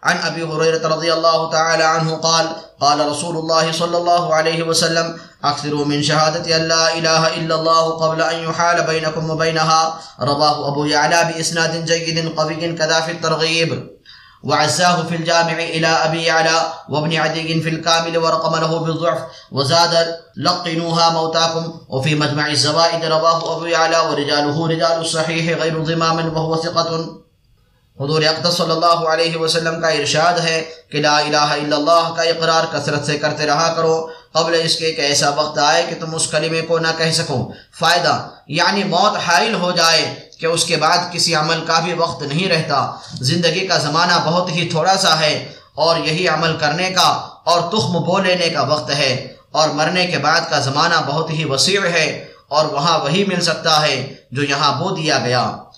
अन अबी हुरैरा रज़ियल्लाहु तआला अन्हु क़ाल क़ाल रसूलुल्लाह सल्लल्लाहु अलैहि वसल्लम अक्सिरू मिन शहादति अल्ला इलाहा इल्लल्लाह क़ब्ल अन युहाल बैनकुम व बैनहा। रवाहु अबू यअला बिइस्नादिन जय्यिदिन क़विय्यिन कज़ा फ़ी तरग़ीब वअज़्ज़ाहु फ़िल जामिअ इला अबी यअला व इब्न अदीय फ़िल कामिल व रक़म लहु बिज़ुअफ़ व ज़ाद लक़िनूहा मौताकुम व फ़ी मजमअ ज़वाइद। रवाहु अबू यअला व रिजालुहु रिजालु सहीह गैरु ज़िमाम व हुवा सिक़तुन। हुज़ूर अक़दस सल्लल्लाहु अलैहि वसल्लम का इरशाद है कि ला इलाहा इल्लल्लाह का इक़रार कसरत से करते रहा करो, क़ब्ल इसके कि ऐसा वक्त आए कि तुम उस कलिमे को ना कह सको। फ़ायदा यानी मौत हाइल हो जाए कि उसके बाद किसी अमल का भी वक्त नहीं रहता। ज़िंदगी का ज़माना बहुत ही थोड़ा सा है और यही अमल करने का और तुख्म बो लेने का वक्त है, और मरने के बाद का ज़माना बहुत ही वसीअ है और वहाँ वही मिल सकता है जो यहाँ बो दिया गया।